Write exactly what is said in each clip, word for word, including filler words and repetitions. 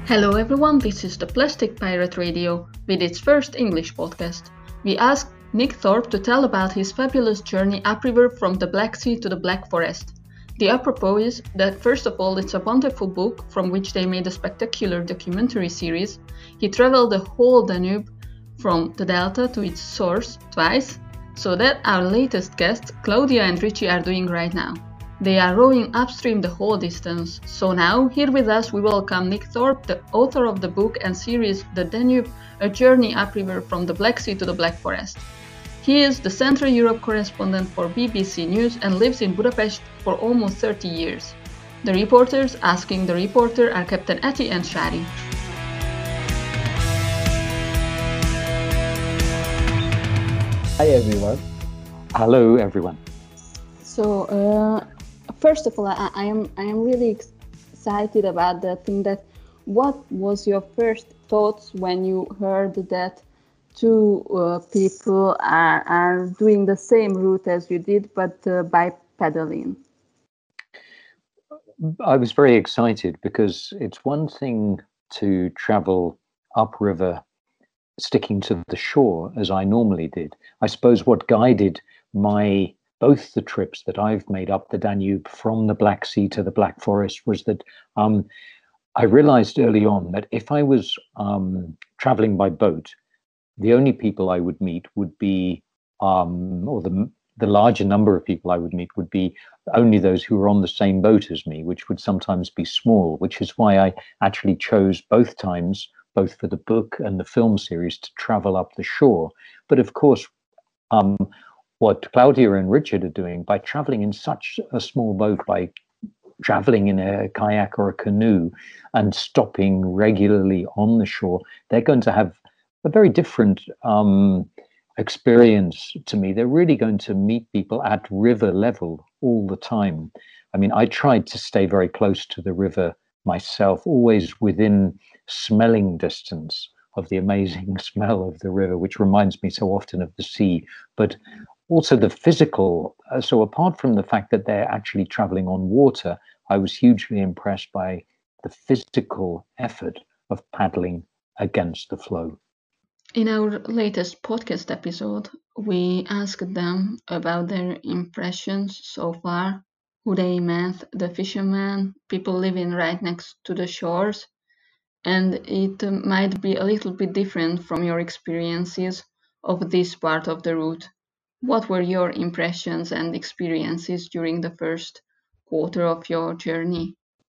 Hello everyone, this is the Plastic Pirate Radio with its first English podcast. We asked Nick Thorpe to tell about his fabulous journey upriver from the Black Sea to the Black Forest. The apropos is that first of all it's a wonderful book from which they made a spectacular documentary series. He traveled the whole Danube from the delta to its source twice, so that our latest guests, Claudia and Richie, are doing right now. They are rowing upstream the whole distance. So now, here with us, we welcome Nick Thorpe, the author of the book and series The Danube, A Journey Upriver from the Black Sea to the Black Forest. He is the Central Europe correspondent for B B C News and lives in Budapest for almost thirty years. The reporters asking the reporter are Captain Ati and Shari. Hi everyone. Hello everyone. So, uh, first of all, I, I am I am really excited about the thing that what was your first thoughts when you heard that two uh, people are, are doing the same route as you did, but uh, by paddling? I was very excited because it's one thing to travel upriver sticking to the shore as I normally did. I suppose what guided my both the trips that I've made up the Danube from the Black Sea to the Black Forest was that um, I realized early on that if I was um, traveling by boat, the only people I would meet would be, um, or the, the larger number of people I would meet would be only those who were on the same boat as me, which would sometimes be small, which is why I actually chose both times, both for the book and the film series, to travel up the shore. But of course, um, what Claudia and Richard are doing by traveling in such a small boat, by traveling in a kayak or a canoe and stopping regularly on the shore, they're going to have a very different um, experience to me. They're really going to meet people at river level all the time. I mean, I tried to stay very close to the river myself, always within smelling distance of the amazing smell of the river, which reminds me so often of the sea. But also the physical. Uh, so apart from the fact that they're actually traveling on water, I was hugely impressed by the physical effort of paddling against the flow. In our latest podcast episode, we asked them about their impressions so far, who they met, the fishermen, people living right next to the shores, and it might be a little bit different from your experiences of this part of the route. What were your impressions and experiences during the first quarter of your journey?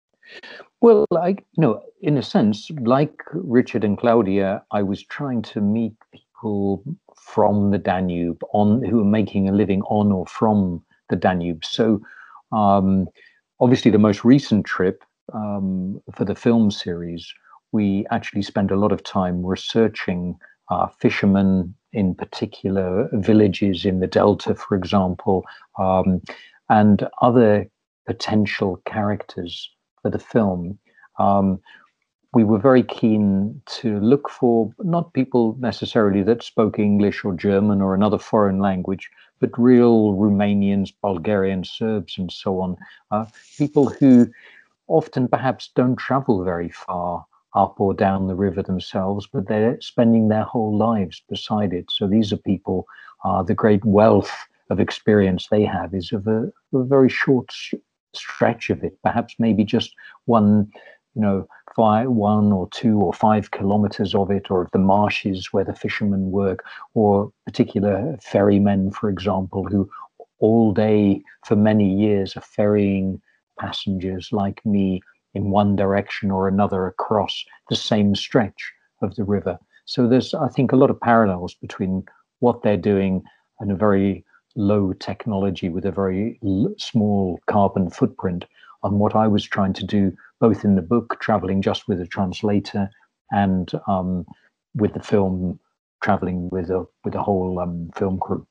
Well, I, you know, in a sense, like Richard and Claudia, I was trying to meet people from the Danube on who are making a living on or from the Danube. So, um, obviously, the most recent trip um, for the film series, we actually spent a lot of time researching uh, fishermen, in particular villages in the Delta, for example, um, and other potential characters for the film. Um, we were very keen to look for not people necessarily that spoke English or German or another foreign language, but real Romanians, Bulgarians, Serbs, and so on. Uh, people who often perhaps don't travel very far up or down the river themselves, but they're spending their whole lives beside it. So these are people, uh, the great wealth of experience they have is of a, a very short stretch of it, perhaps maybe just one, you know, five, one or two or five kilometers of it, or of the marshes where the fishermen work, or particular ferrymen, for example, who all day for many years are ferrying passengers like me in one direction or another across the same stretch of the river. So there's, I think, a lot of parallels between what they're doing and a very low technology with a very l- small carbon footprint on what I was trying to do, both in the book, traveling just with a translator, and um, with the film, traveling with a with a whole um, film crew.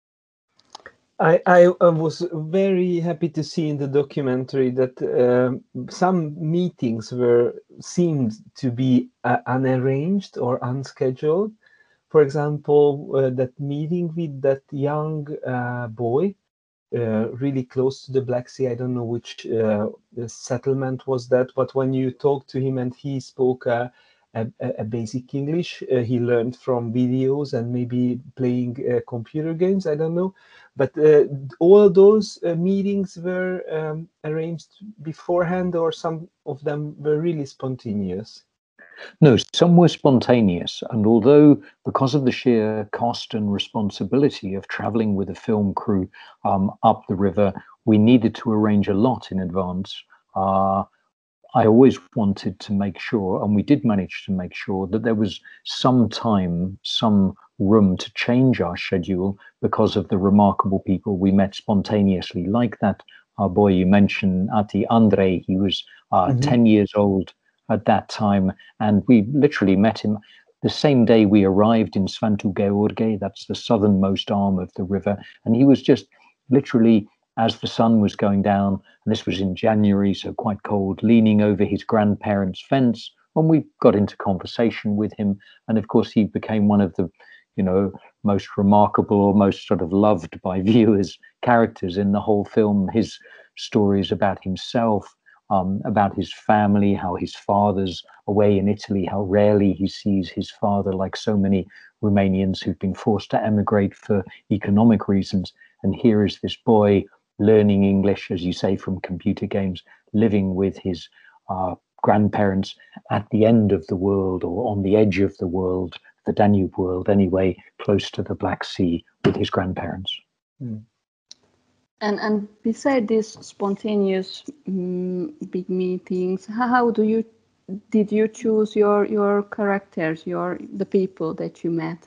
I, I was very happy to see in the documentary that uh, some meetings were seemed to be uh, unarranged or unscheduled. For example, uh, that meeting with that young uh, boy uh, really close to the Black Sea. I don't know which uh, settlement was that, but when you talked to him and he spoke uh, a, a basic English, uh, he learned from videos and maybe playing uh, computer games, I don't know. But uh, all those uh, meetings were um, arranged beforehand, or some of them were really spontaneous? No, some were spontaneous, and although because of the sheer cost and responsibility of traveling with a film crew um, up the river, we needed to arrange a lot in advance. Uh, I always wanted to make sure, and we did manage to make sure, that there was some time, some room to change our schedule because of the remarkable people we met spontaneously, like that uh, boy you mentioned, Ati Andrei. He was uh, mm-hmm. ten years old at that time, and we literally met him the same day we arrived in Svantu Gheorghe, that's the southernmost arm of the river, and he was just literally, as the sun was going down, and this was in January, so quite cold, leaning over his grandparents' fence, and we got into conversation with him, and of course he became one of the, you know, most remarkable or most sort of loved by viewers characters in the whole film. His stories about himself, Um, about his family, how his father's away in Italy, how rarely he sees his father, like so many Romanians who've been forced to emigrate for economic reasons. And here is this boy learning English, as you say, from computer games, living with his uh, grandparents at the end of the world, or on the edge of the world, the Danube world anyway, close to the Black Sea with his grandparents. Mm. And and beside these spontaneous um, big meetings, how, how do you did you choose your your characters, your the people that you met?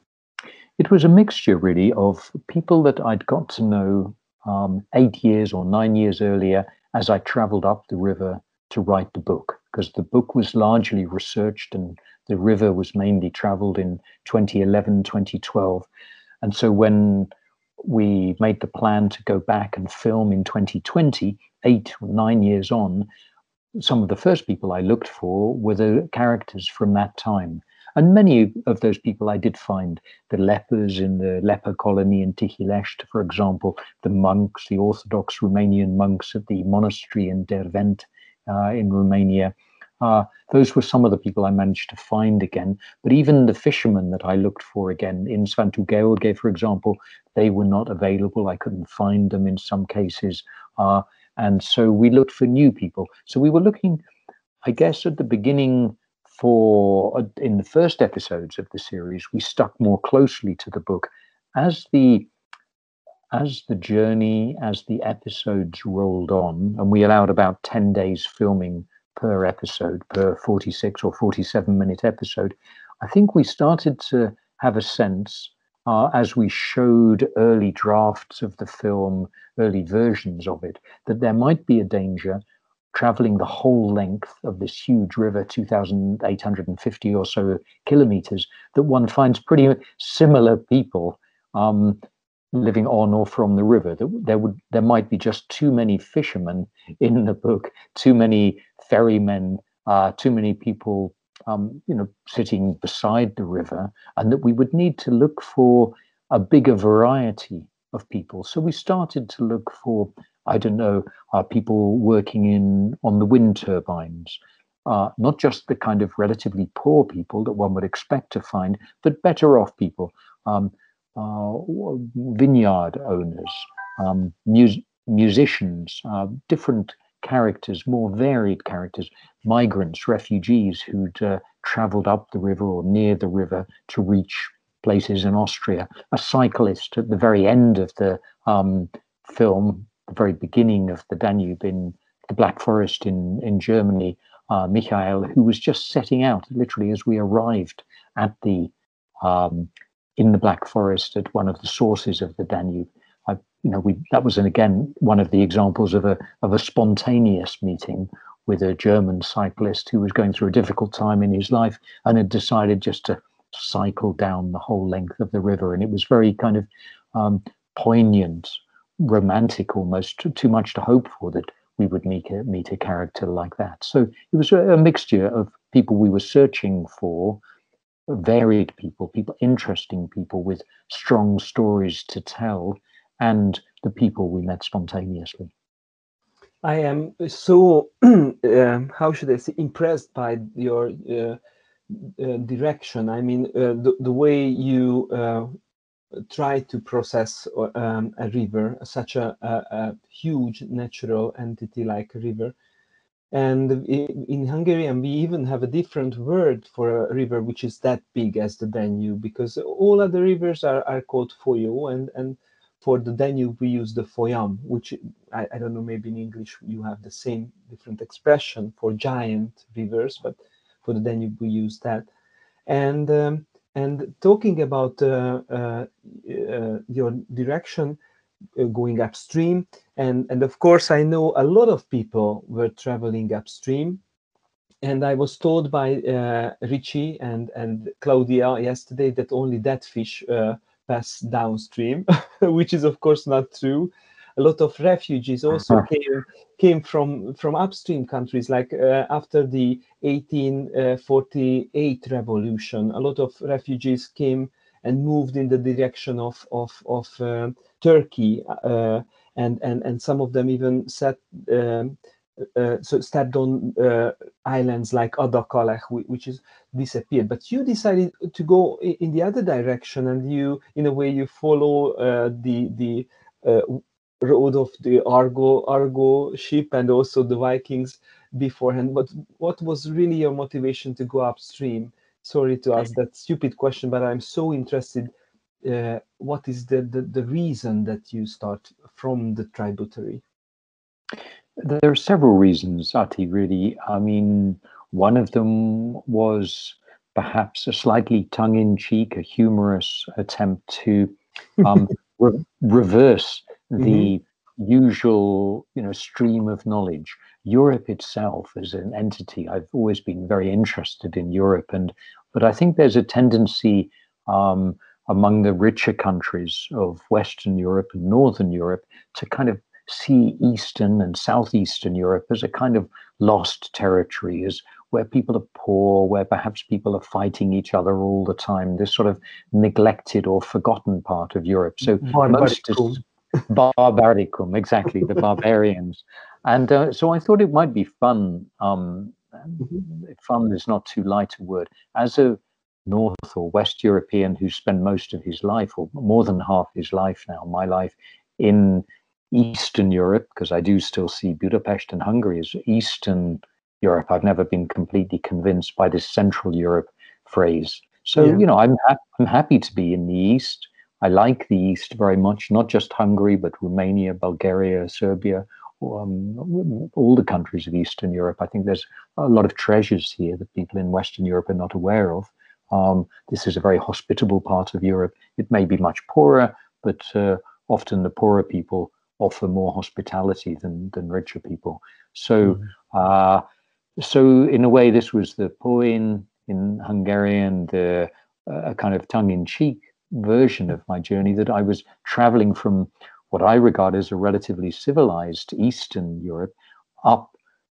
It was a mixture, really, of people that I'd got to know um, eight years or nine years earlier as I traveled up the river to write the book, because the book was largely researched and the river was mainly traveled in twenty eleven, twenty twelve. And so when we made the plan to go back and film in twenty twenty, eight or nine years on, some of the first people I looked for were the characters from that time. And many of those people I did find, the lepers in the leper colony in Tihilești, for example, the monks, the Orthodox Romanian monks at the monastery in Dervent uh, in Romania. Uh, those were some of the people I managed to find again. But even the fishermen that I looked for again in Svantu Gheorghe, for example, they were not available. I couldn't find them in some cases. Uh, and so we looked for new people. So we were looking, I guess, at the beginning for, uh, in the first episodes of the series, we stuck more closely to the book. As the As the journey, as the episodes rolled on, and we allowed about ten days filming per episode, per forty-six or forty-seven minute episode, I think we started to have a sense, uh, as we showed early drafts of the film, early versions of it, that there might be a danger traveling the whole length of this huge river, two thousand eight hundred fifty or so kilometers, that one finds pretty similar people um, living on or from the river. That there would there might be just too many fishermen in the book, too many ferrymen, uh, too many people, um, you know, sitting beside the river, and that we would need to look for a bigger variety of people. So we started to look for, I don't know, uh, people working in on the wind turbines, uh, not just the kind of relatively poor people that one would expect to find, but better off people. Um, Uh, vineyard owners, um, mus- musicians, uh, different characters, more varied characters, migrants, refugees who'd uh, traveled up the river or near the river to reach places in Austria, a cyclist at the very end of the um, film, the very beginning of the Danube in the Black Forest in, in Germany, uh, Michael, who was just setting out literally as we arrived at the um, in the Black Forest at one of the sources of the Danube. I, you know, we that was, and again, one of the examples of a of a spontaneous meeting with a German cyclist who was going through a difficult time in his life and had decided just to cycle down the whole length of the river. And it was very kind of um, poignant, romantic almost, too much to hope for that we would meet a, meet a character like that. So it was a, a mixture of people we were searching for, varied people, people, interesting people with strong stories to tell, and the people we met spontaneously. I am so, um, how should I say, impressed by your uh, uh, direction. I mean, uh, the, the way you uh, try to process um, a river, such a, a, a huge natural entity like a river. And in Hungarian, we even have a different word for a river which is that big as the Danube, because all other rivers are, are called folyó, and, and for the Danube, we use the folyam, which I, I don't know, maybe in English you have the same different expression for giant rivers, but for the Danube, we use that. And, um, and talking about uh, uh, uh, your direction, Uh, going upstream, and and of course I know a lot of people were traveling upstream, and I was told by uh, Richie and and Claudia yesterday that only that fish uh, pass downstream, which is of course not true. A lot of refugees also came came from from upstream countries, like uh, after the eighteen forty-eight revolution. A lot of refugees came and moved in the direction of of of uh, Turkey, uh, and and and some of them even set um, uh, so stepped on uh, islands like Adakalech, which is disappeared. But you decided to go in the other direction, and you, in a way, you follow uh, the the uh, road of the Argo Argo ship and also the Vikings beforehand. But what was really your motivation to go upstream? Sorry to ask that stupid question, but I'm so interested. Uh, what is the, the the reason that you start from the tributary? There are several reasons, Ati, really. I mean, one of them was perhaps a slightly tongue-in-cheek, a humorous attempt to um, re- reverse the mm-hmm. usual, you know, stream of knowledge. Europe itself as an entity, I've always been very interested in Europe, and but I think there's a tendency um, among the richer countries of Western Europe and Northern Europe to kind of see Eastern and Southeastern Europe as a kind of lost territory, as where people are poor, where perhaps people are fighting each other all the time, this sort of neglected or forgotten part of Europe. So most is barbaricum, exactly, the barbarians. And uh, so I thought it might be fun. Um, mm-hmm. Fun is not too light a word. As a North or West European who spent most of his life, or more than half his life now, my life, in Eastern Europe, because I do still see Budapest and Hungary as Eastern Europe. I've never been completely convinced by this Central Europe phrase. So, yeah. you know, I'm, ha- I'm happy to be in the East. I like the East very much, not just Hungary, but Romania, Bulgaria, Serbia, um, all the countries of Eastern Europe. I think there's a lot of treasures here that people in Western Europe are not aware of. Um, this is a very hospitable part of Europe. It may be much poorer, but uh, often the poorer people offer more hospitality than than richer people. So, mm-hmm. uh, so in a way, this was the poin in Hungarian, the uh, kind of tongue-in-cheek version of my journey, that I was traveling from what I regard as a relatively civilized Eastern Europe up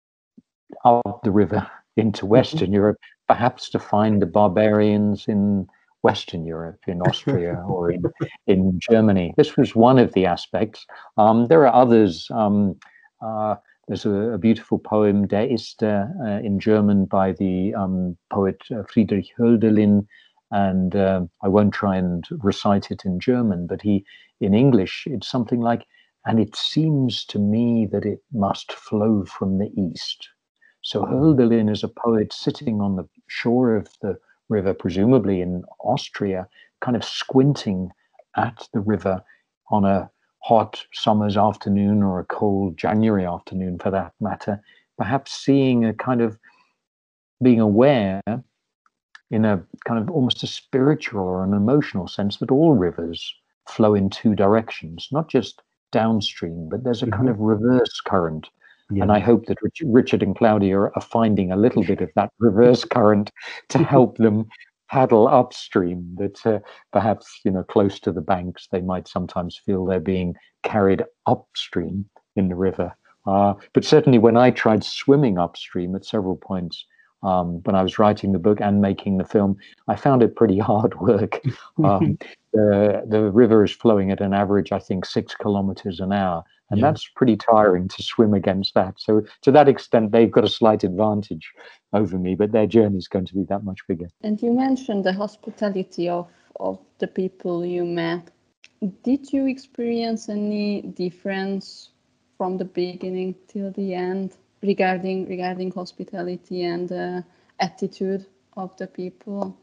up the river into Western mm-hmm. Europe, perhaps to find the barbarians in Western Europe, in Austria or in, in Germany. This was one of the aspects. Um, there are others. Um, uh, there's a, a beautiful poem, Der Iste, uh, in German by the um, poet uh, Friedrich Hölderlin, and uh, I won't try and recite it in German, but he, in English, it's something like, and it seems to me that it must flow from the east. So Hölderlin is a poet sitting on the shore of the river, presumably in Austria, kind of squinting at the river on a hot summer's afternoon or a cold January afternoon for that matter, perhaps seeing a kind of being aware in a kind of almost a spiritual or an emotional sense that all rivers flow in two directions, not just downstream, but there's a mm-hmm. kind of reverse current. Yeah. And I hope that Rich, Richard and Claudia are finding a little bit of that reverse current to help them paddle upstream. That uh, perhaps, you know, close to the banks, they might sometimes feel they're being carried upstream in the river. Uh, but certainly when I tried swimming upstream at several points, um, when I was writing the book and making the film, I found it pretty hard work. Um, the the river is flowing at an average, I think, six kilometers an hour, and Yeah. that's pretty tiring to swim against that. So to that extent, they've got a slight advantage over me, but their journey is going to be that much bigger. And you mentioned the hospitality of, of the people you met. Did you experience any difference from the beginning till the end regarding regarding hospitality and uh, attitude of the people?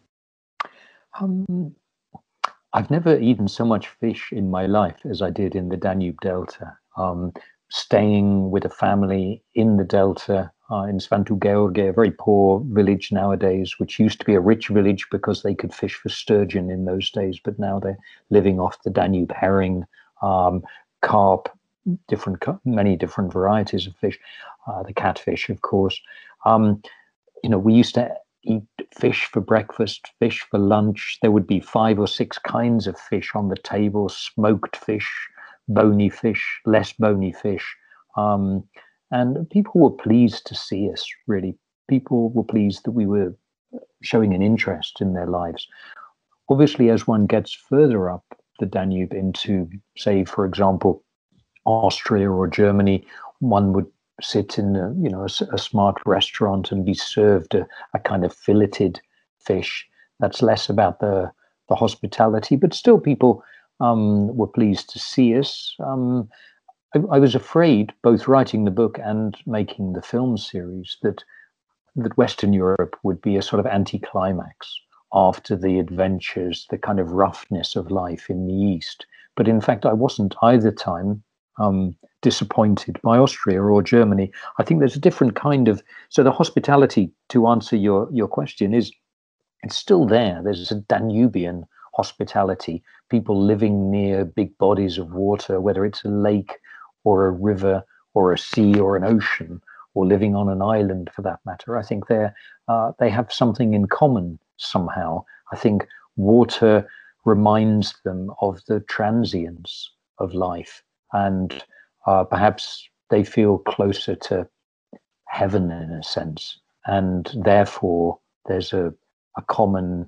Um, I've never eaten so much fish in my life as I did in the Danube Delta. Um, staying with a family in the Delta, uh, in Sfântu Gheorghe, a very poor village nowadays, which used to be a rich village because they could fish for sturgeon in those days, but now they're living off the Danube herring, um, carp, different, many different varieties of fish, uh, the catfish, of course. Um, you know, we used to eat fish for breakfast, fish for lunch. There would be five or six kinds of fish on the table: smoked fish, bony fish, less bony fish. Um, and people were pleased to see us, really. People were pleased that we were showing an interest in their lives. Obviously, as one gets further up the Danube into, say, for example, Austria or Germany, one would sit in a, you know, a, a smart restaurant and be served a, a kind of filleted fish. That's less about the the hospitality, but still people um, were pleased to see us. Um, I, I was afraid, both writing the book and making the film series, that that Western Europe would be a sort of anticlimax after the adventures, the kind of roughness of life in the East. But in fact, I wasn't either time um, disappointed by Austria or Germany. I think there's a different kind of, so the hospitality, to answer your, your question, is it's still there. There's a Danubian hospitality, people living near big bodies of water, whether it's a lake or a river or a sea or an ocean, or living on an island for that matter. I think they're, uh, they have something in common somehow. I think water reminds them of the transience of life, and uh, perhaps they feel closer to heaven in a sense, and therefore there's a, a common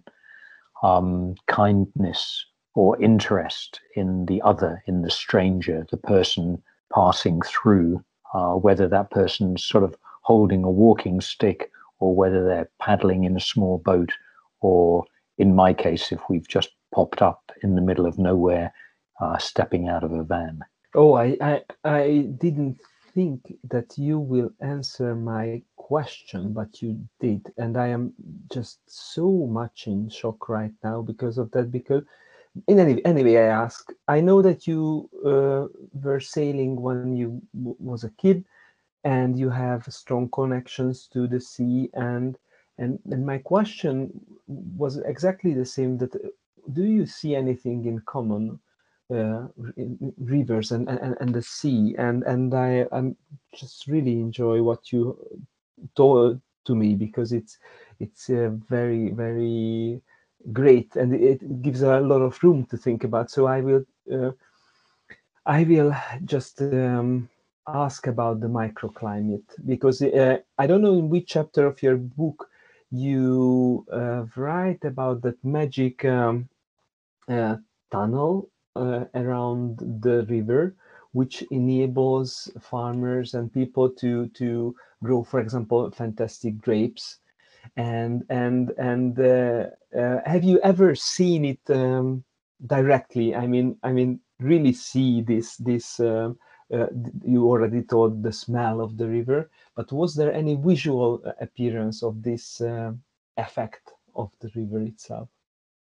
um, kindness or interest in the other, in the stranger, the person passing through, uh, whether that person's sort of holding a walking stick or whether they're paddling in a small boat, or in my case, if we've just popped up in the middle of nowhere, uh, stepping out of a van. Oh, I, I, I didn't think that you will answer my question, but you did. And I am just so much in shock right now because of that, because in any anyway, I ask, I know that you uh, were sailing when you w- was a kid, and you have strong connections to the sea, and and and my question was exactly the same, that uh, do you see anything in common, uh, in rivers and, and and the sea? And and I I'm just really enjoy what you told to me, because it's it's uh, very very great, and it gives a lot of room to think about. So I will uh, I will just um, ask about the microclimate, because uh, I don't know in which chapter of your book you uh, write about that magic um, uh, tunnel uh, around the river, which enables farmers and people to to grow, for example, fantastic grapes. And and and uh, uh, have you ever seen it um, directly? I mean, I mean, really see this this. Uh, uh, you already told the smell of the river, but was there any visual appearance of this uh, effect of the river itself?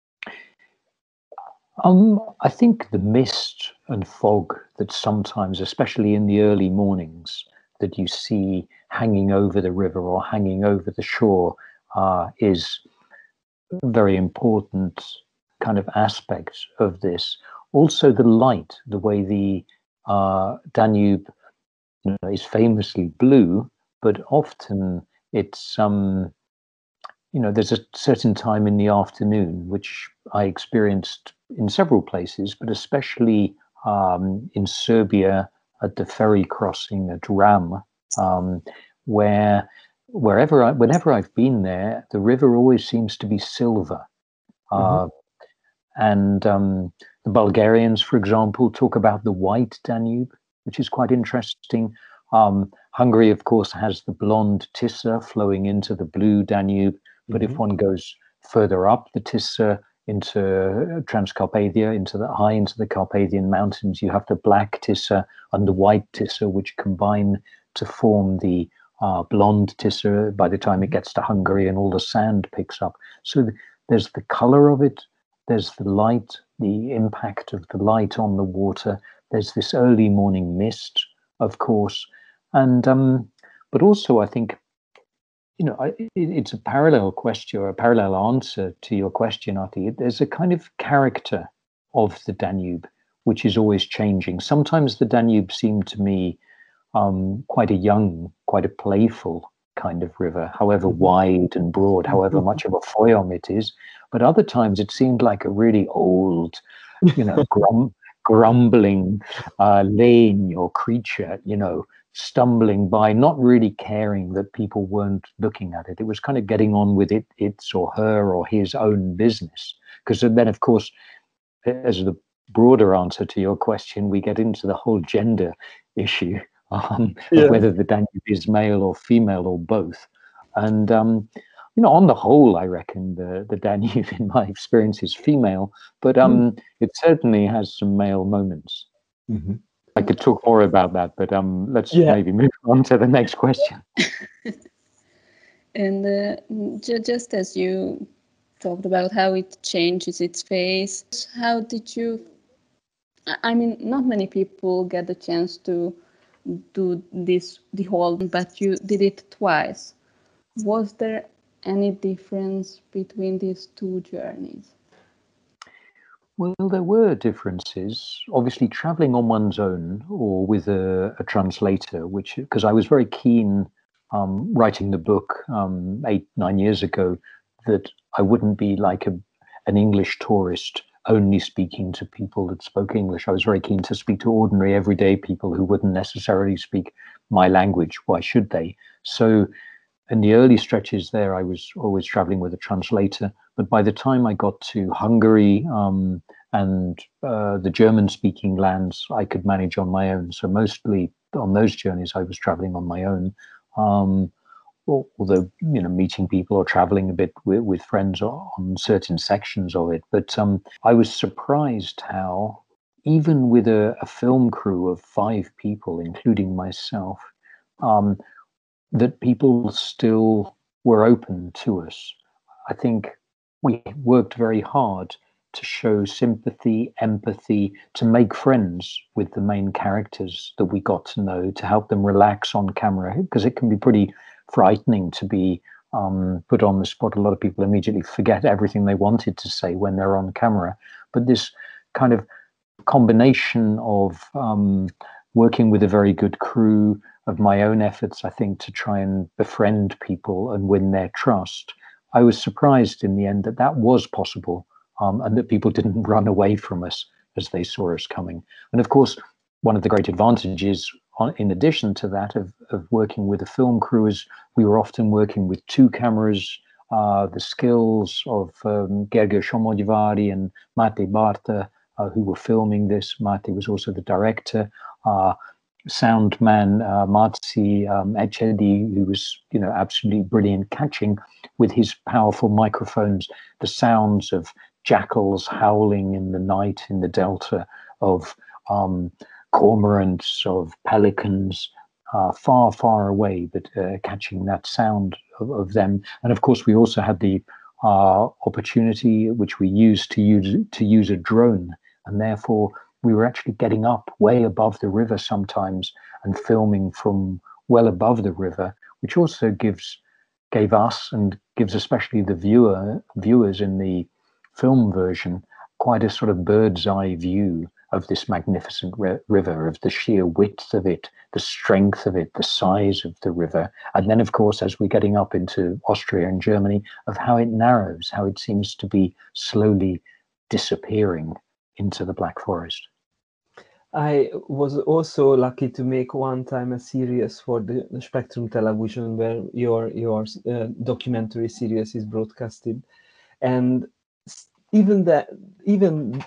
Um, I think the mist and fog that sometimes, especially in the early mornings, that you see hanging over the river or hanging over the shore uh, is a very important kind of aspect of this. Also, the light, the way the uh, Danube, you know, is famously blue, but often it's um, you know, there's a certain time in the afternoon which I experienced in several places, but especially um, in Serbia at the ferry crossing at Ram, um, where wherever I, whenever I've been there, the river always seems to be silver. Uh, Mhm. And um, the Bulgarians, for example, talk about the white Danube, which is quite interesting. Um, Hungary, of course, has the blonde Tisza flowing into the blue Danube. But mm-hmm. if one goes further up the Tisza into Transcarpathia, into the high into the Carpathian Mountains, you have the black Tisza and the white Tisza, which combine to form the uh, blonde Tisza by the time it gets to Hungary and all the sand picks up. So th there's the color of it, there's the light, the impact of the light on the water, there's this early morning mist, of course, and um, but also I think, you know, I, it, it's a parallel question or a parallel answer to your question, Arti. There's a kind of character of the Danube which is always changing. Sometimes the Danube seemed to me um, quite a young, quite a playful kind of river, however wide and broad, however much of a foyom it is. But other times it seemed like a really old, you know, grum, grumbling uh, lane or creature, you know, stumbling by, not really caring that people weren't looking at it. It was kind of getting on with it, its or her or his own business. Because then, of course, as the broader answer to your question, we get into the whole gender issue. Um, yeah. Whether the Danube is male or female or both. And, um, you know, on the whole, I reckon the, the Danube, in my experience, is female, but um, mm. it certainly has some male moments. Mm-hmm. I could talk more about that, but um, let's yeah. maybe move on to the next question. And uh, ju just as you talked about how it changes its face, how did you, I mean, not many people get the chance to do this the whole, but you did it twice. Was there any difference between these two journeys? Well, there were differences. Obviously, traveling on one's own or with a, a translator, which, because I was very keen um, writing the book um, eight, nine years ago, that I wouldn't be like a, an English tourist only speaking to people that spoke English. I was very keen to speak to ordinary, everyday people who wouldn't necessarily speak my language. Why should they? So in the early stretches there, I was always traveling with a translator. But by the time I got to Hungary um, and uh, the German-speaking lands, I could manage on my own. So mostly on those journeys, I was traveling on my own. Um, although, you know, meeting people or traveling a bit with, with friends on certain sections of it. But um, I was surprised how, even with a, a film crew of five people, including myself, um, that people still were open to us. I think we worked very hard to show sympathy, empathy, to make friends with the main characters that we got to know, to help them relax on camera, because it can be pretty frightening to be um, put on the spot. A lot of people immediately forget everything they wanted to say when they're on camera. But this kind of combination of um, working with a very good crew, of my own efforts, I think, to try and befriend people and win their trust, I was surprised in the end that that was possible, um, and that people didn't run away from us as they saw us coming. And of course, one of the great advantages, on, in addition to that, of, of working with a film crew is we were often working with two cameras. Uh, the skills of um, Gergő Somogyvári and Máté Bárta, uh, who were filming this. Máté was also the director. Uh, sound man uh, Marci um, Echedi, who was, you know, absolutely brilliant, catching with his powerful microphones the sounds of jackals howling in the night in the delta, of um, cormorants, of pelicans, uh, far, far away, but uh, catching that sound of, of them. And of course, we also had the uh, opportunity, which we used to use to use a drone, and therefore we were actually getting up way above the river sometimes and filming from well above the river, which also gives gave us and gives especially the viewer viewers in the film version quite a sort of bird's eye view of this magnificent river, of the sheer width of it, the strength of it, the size of the river. And then, of course, as we're getting up into Austria and Germany, of how it narrows, how it seems to be slowly disappearing into the Black Forest. I was also lucky to make one time a series for the Spectrum Television where your your uh, documentary series is broadcasted, and even that, even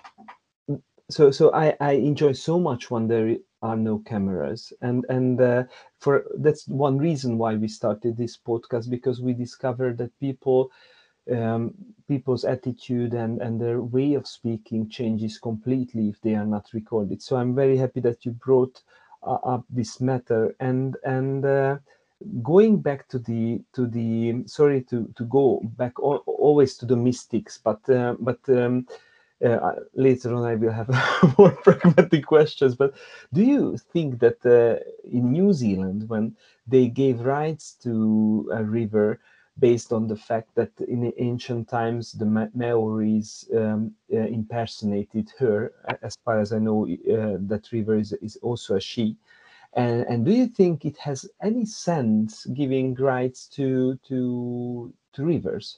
so, so I, I enjoy so much when there are no cameras, and and uh, for that's one reason why we started this podcast, because we discovered that people, um, people's attitude and and their way of speaking changes completely if they are not recorded. So I'm very happy that you brought uh, up this matter, and and. Uh, going back to the to the sorry to to go back al- always to the mystics, but uh, but um, uh, later on I will have more pragmatic questions. But do you think that uh, in New Zealand, when they gave rights to a river based on the fact that in the ancient times the Ma- Maoris um, uh, impersonated her, a- as far as I know, uh, that river is, is also a she, and, and do you think it has any sense giving rights to to to rivers?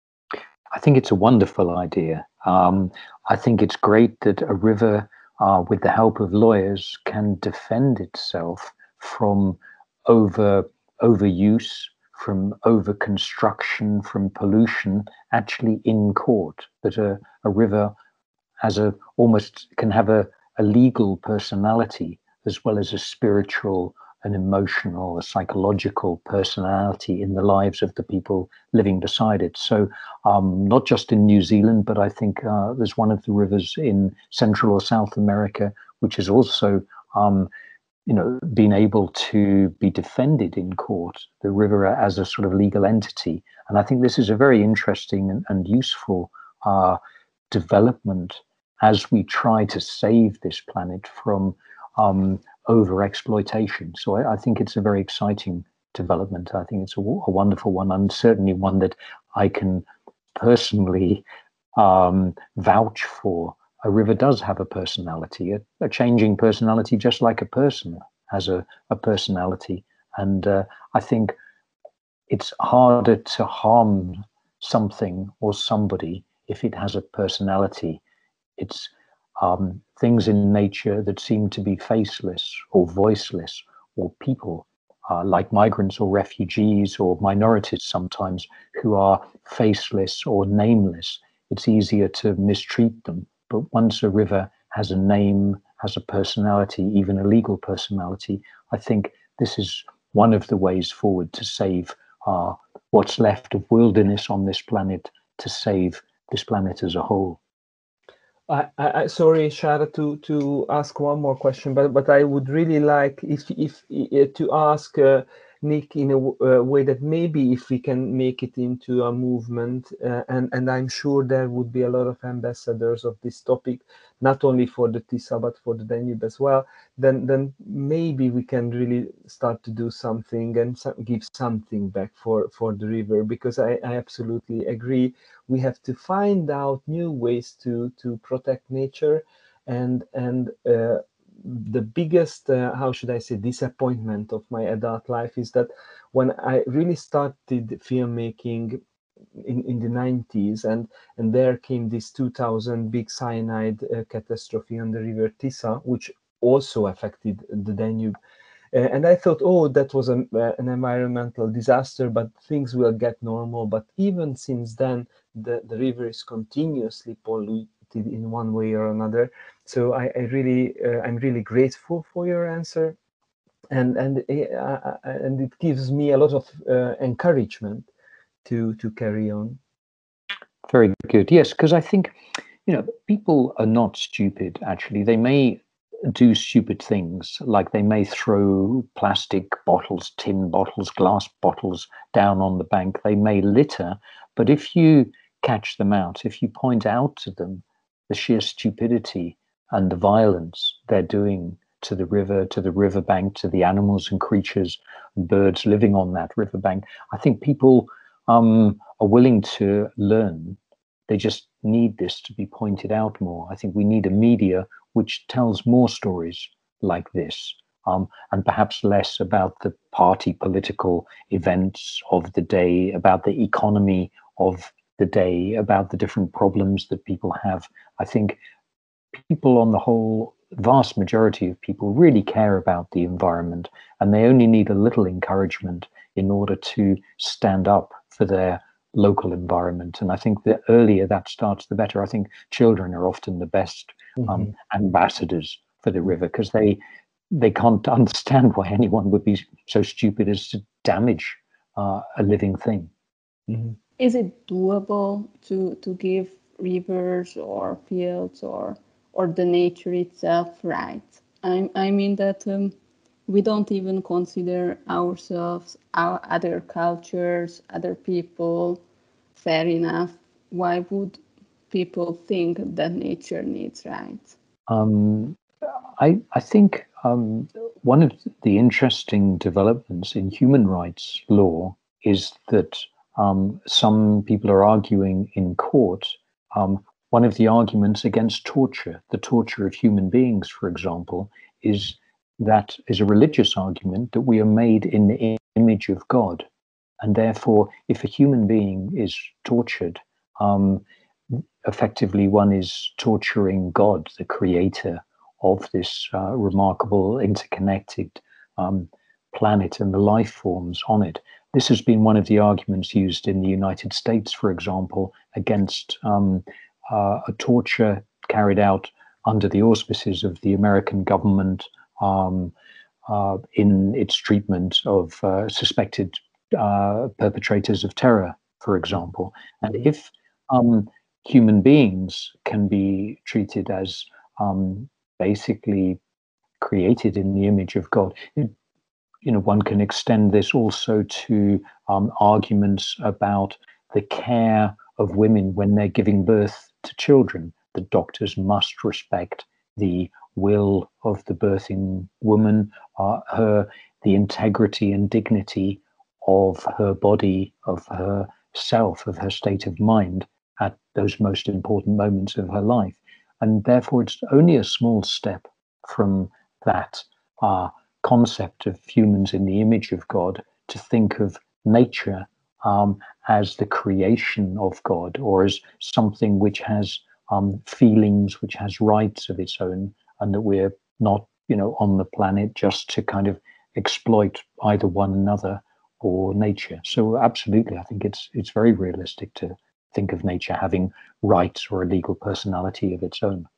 I think it's a wonderful idea. Um, I think it's great that a river, uh, with the help of lawyers, can defend itself from over overuse, from over construction, from pollution, actually in court. That a, a river has a almost can have a, a legal personality as well as a spiritual, an emotional, a psychological personality in the lives of the people living beside it. So um, not just in New Zealand, but I think uh, there's one of the rivers in Central or South America, which has also um, you know, been able to be defended in court, the river as a sort of legal entity. And I think this is a very interesting and, and useful uh, development as we try to save this planet from um, over exploitation. So I, I think it's a very exciting development. I think it's a, a wonderful one, and certainly one that I can personally um, vouch for. A river does have a personality, a, a changing personality, just like a person has a, a personality. And uh, I think it's harder to harm something or somebody if it has a personality. It's um, things in nature that seem to be faceless or voiceless, or people uh, like migrants or refugees or minorities sometimes, who are faceless or nameless. It's easier to mistreat them. But once a river has a name, has a personality, even a legal personality, I think this is one of the ways forward to save uh, what's left of wilderness on this planet, to save this planet as a whole. I, I, sorry, Shara, to to ask one more question, but but I would really like if if uh, to ask uh, Nick in a uh, way that maybe if we can make it into a movement, uh, and and I'm sure there would be a lot of ambassadors of this topic, not only for the Tisza but for the Danube as well. Then then maybe we can really start to do something and so, give something back for for the river, because I, I absolutely agree. We have to find out new ways to to protect nature, and and uh, the biggest uh, how should I say disappointment of my adult life is that when I really started filmmaking in, in the nineties, and and there came this two thousand big cyanide uh, catastrophe on the river Tisza, which also affected the Danube. Uh, and I thought, oh, that was an, uh, an environmental disaster, but things will get normal. But even since then, the, the river is continuously polluted in one way or another. So I, I really, uh, I'm really grateful for your answer, and and uh, and it gives me a lot of uh, encouragement to to carry on. Very good. Yes, because I think, you know, people are not stupid. Actually, they may do stupid things, like they may throw plastic bottles, tin bottles, glass bottles down on the bank. They may litter, but if you catch them out, if you point out to them the sheer stupidity and the violence they're doing to the river, to the riverbank, to the animals and creatures and birds living on that riverbank, I think people um, are willing to learn. They just need this to be pointed out more. I think we need a media which tells more stories like this, um, and perhaps less about the party political events of the day, about the economy of the day, about the different problems that people have. I think people on the whole, vast majority of people really care about the environment, and they only need a little encouragement in order to stand up for their local environment. And I think the earlier that starts, the better. I think children are often the best um, mm-hmm. ambassadors for the river, because they they can't understand why anyone would be so stupid as to damage uh, a living thing. Mm-hmm. Is it doable to to give rivers or fields or or the nature itself rights? I I mean that um, we don't even consider ourselves, our other cultures, other people fair enough. Why would people think that nature needs rights? Um, I, I think um, one of the interesting developments in human rights law is that um, some people are arguing in court. Um, one of the arguments against torture, the torture of human beings, for example, is that is a religious argument that we are made in the image of God. And therefore, if a human being is tortured, um, effectively one is torturing God, the creator of this uh, remarkable interconnected um, planet and the life forms on it. This has been one of the arguments used in the United States, for example, against um, uh, a torture carried out under the auspices of the American government um, uh, in its treatment of uh, suspected uh, perpetrators of terror, for example. And if um, human beings can be treated as um, basically created in the image of God, it, you know, one can extend this also to um, arguments about the care of women when they're giving birth to children. The doctors must respect the will of the birthing woman, uh, her the integrity and dignity of her body, of her self, of her state of mind at those most important moments of her life. And therefore, it's only a small step from that uh, concept of humans in the image of God to think of nature um, as the creation of God, or as something which has um, feelings, which has rights of its own, and that we're not, you know, on the planet just to kind of exploit either one another or nature. So absolutely, I think it's it's very realistic to think of nature having rights or a legal personality of its own.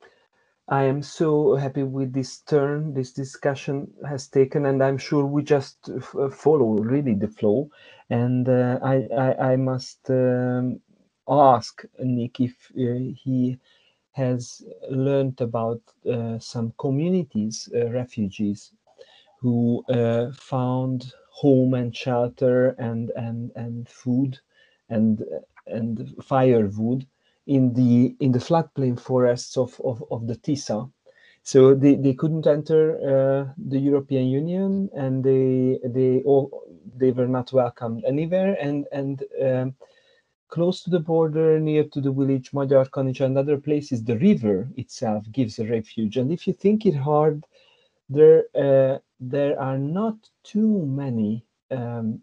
I am so happy with this turn this discussion has taken, and I'm sure we just f- follow really the flow. And uh, I, I I must um, ask Nick if uh, he has learned about uh, some communities, uh, refugees, who uh, found home and shelter and and and food and and firewood in the in the floodplain forests of, of, of the Tisza. So they, they couldn't enter uh, the European Union, and they they all they were not welcomed anywhere. And and um, close to the border, near to the village Magyarkanizsa and other places, the river itself gives a refuge. And if you think it hard, there uh, there are not too many um,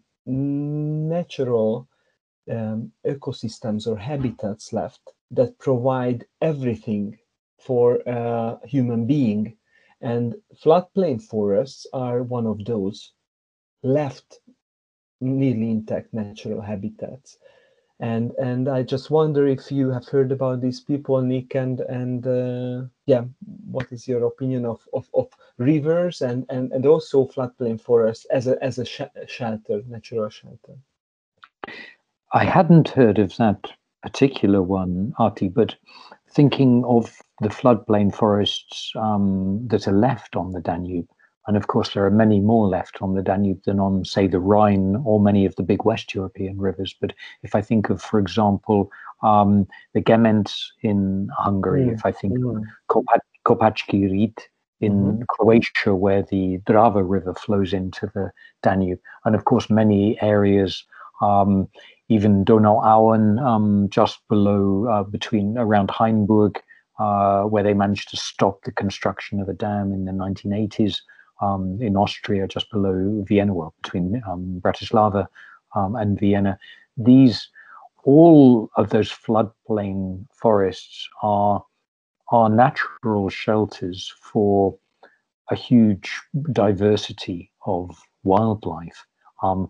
natural um, ecosystems or habitats left that provide everything for a human being, and floodplain forests are one of those left nearly intact natural habitats. And and I just wonder if you have heard about these people, Nick, and and uh, yeah, what is your opinion of of, of rivers and, and and also floodplain forests as a as a sh- shelter, natural shelter? I hadn't heard of that particular one, Arti, but thinking of the floodplain forests um, that are left on the Danube, and of course there are many more left on the Danube than on, say, the Rhine or many of the big West European rivers. But if I think of, for example, um, the Gement in Hungary, mm. if I think mm. of Kopac- Kopacki Rit in mm-hmm. Croatia, where the Drava River flows into the Danube, and of course many areas, um, even Donauauen, um, just below, uh, between around Hainburg, uh, where they managed to stop the construction of a dam in the nineteen eighties. Um, in Austria, just below Vienna, well, between um, Bratislava um, and Vienna. These, all of those floodplain forests are are natural shelters for a huge diversity of wildlife. Um,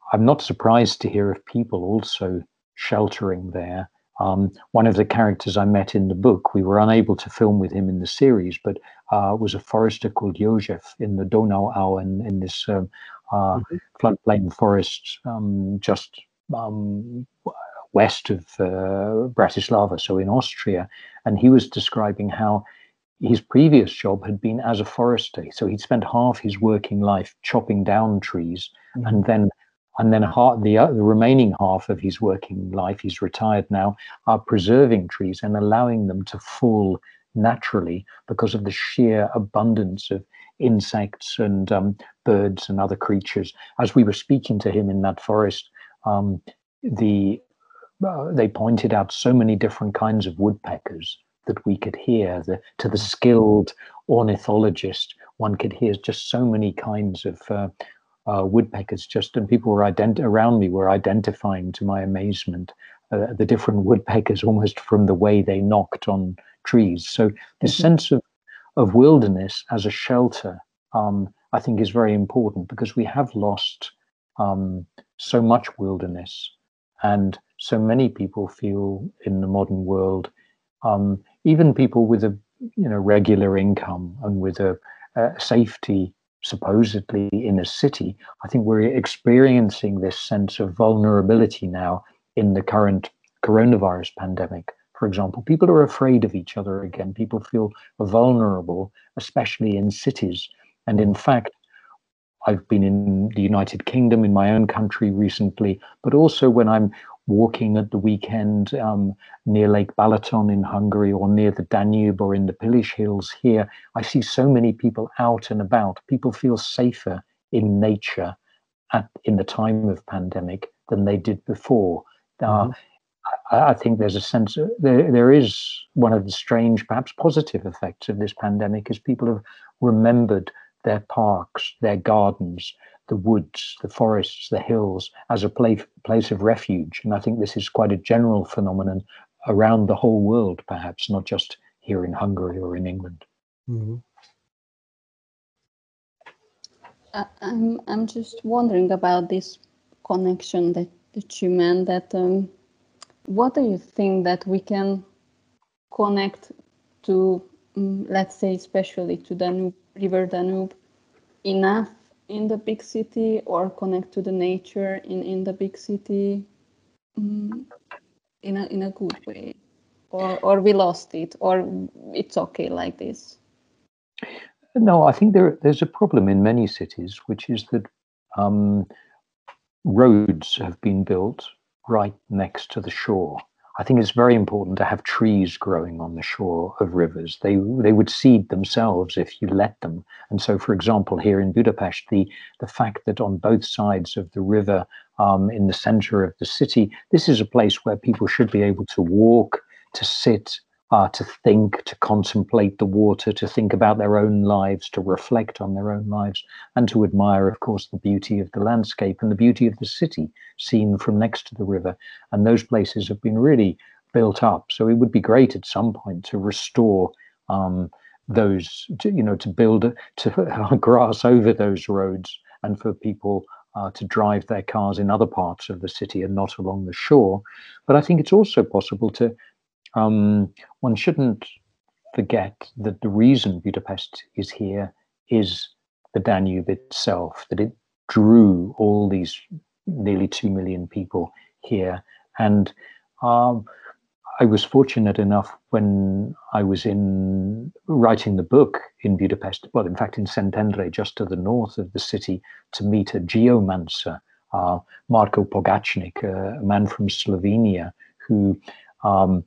I'm not surprised to hear of people also sheltering there. Um, one of the characters I met in the book, we were unable to film with him in the series, but uh, was a forester called Jozef in the Donauau, in, in this um, uh, mm-hmm. floodplain forest um, just um, west of uh, Bratislava, so in Austria. And he was describing how his previous job had been as a forester. So he'd spent half his working life chopping down trees, mm-hmm. and then And then half, the, uh, the remaining half of his working life, he's retired now, are preserving trees and allowing them to fall naturally because of the sheer abundance of insects and um, birds and other creatures. As we were speaking to him in that forest, um, the uh, they pointed out so many different kinds of woodpeckers that we could hear. The, to the skilled ornithologist, one could hear just so many kinds of uh, Uh, woodpeckers just, and people were ident- around me were identifying, to my amazement, uh, the different woodpeckers almost from the way they knocked on trees. So this mm-hmm. sense of, of wilderness as a shelter, um, I think is very important, because we have lost um, so much wilderness, and so many people feel in the modern world, um, even people with a you know regular income and with a, a safety supposedly in a city, I think we're experiencing this sense of vulnerability now in the current coronavirus pandemic. For example, people are afraid of each other again. People feel vulnerable, especially in cities. And in fact, I've been in the United Kingdom, in my own country recently, but also when I'm walking at the weekend um, near Lake Balaton in Hungary, or near the Danube, or in the Pilis Hills here, I see so many people out and about. People feel safer in nature at in the time of pandemic than they did before. Mm-hmm. Uh, I, I think there's a sense of, there, there is one of the strange, perhaps positive effects of this pandemic is people have remembered their parks, their gardens, the woods, the forests, the hills as a place, place of refuge. And I think this is quite a general phenomenon around the whole world, perhaps, not just here in Hungary or in England. Mm-hmm. I, I'm, I'm just wondering about this connection that, that you meant, that um, what do you think that we can connect to, um, let's say, especially to Danube, River Danube, enough in the big city, or connect to the nature in, in the big city um, in a in a good way, or or we lost it, or it's okay like this? No, I think there there's a problem in many cities, which is that um, roads have been built right next to the shore. I think it's very important to have trees growing on the shore of rivers. They they would seed themselves if you let them. And so, for example, here in Budapest, the, the fact that on both sides of the river, um, in the center of the city, this is a place where people should be able to walk, to sit, uh, to think, to contemplate the water, to think about their own lives, to reflect on their own lives, and to admire, of course, the beauty of the landscape and the beauty of the city seen from next to the river. And those places have been really built up. So it would be great at some point to restore um, those, to, you know, to build, to grass over those roads, and for people uh, to drive their cars in other parts of the city and not along the shore. But I think it's also possible to, um, one shouldn't forget that the reason Budapest is here is the Danube itself, that it drew all these nearly two million people here. And um, I was fortunate enough when I was in writing the book in Budapest, well, in fact, in Szentendre, just to the north of the city, to meet a geomancer, uh, Marko Pogacnik, uh, a man from Slovenia, who um,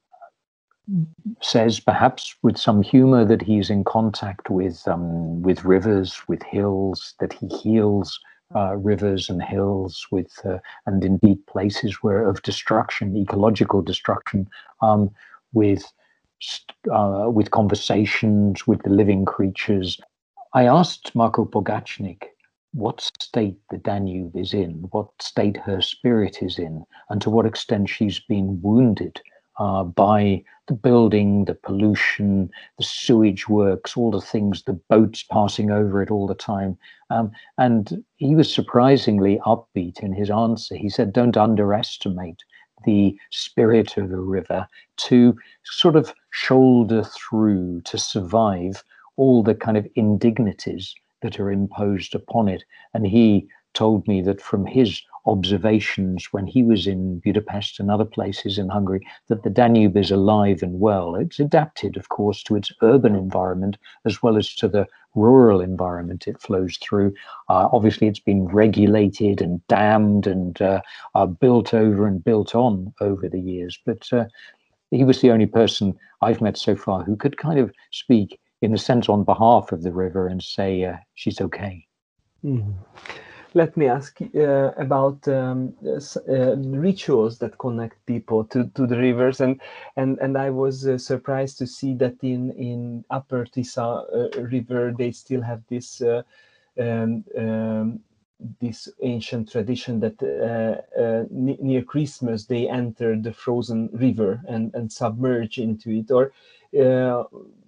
says, perhaps with some humor, that he's in contact with um, with rivers, with hills, that he heals uh, rivers and hills with, uh, and indeed places where of destruction, ecological destruction, um, with uh, with conversations with the living creatures. I asked Marko Pogacnik what state the Danube is in, what state her spirit is in, and to what extent she's been wounded uh, by the building, the pollution, the sewage works, all the things, the boats passing over it all the time. Um, and he was surprisingly upbeat in his answer. He said, don't underestimate the spirit of the river to sort of shoulder through, to survive all the kind of indignities that are imposed upon it. And he told me that from his observations when he was in Budapest and other places in Hungary, that the Danube is alive and well. It's adapted, of course, to its urban environment as well as to the rural environment it flows through. Uh, obviously, it's been regulated and dammed and uh, uh, built over and built on over the years. But uh, he was the only person I've met so far who could kind of speak, in a sense, on behalf of the river and say uh, she's okay. Mm. Let me ask uh, about um, uh, rituals that connect people to, to the rivers, and and and I was uh, surprised to see that in in Upper Tisa uh, River they still have this uh, um, um, this ancient tradition that uh, uh, near Christmas they enter the frozen river and and submerge into it, or uh,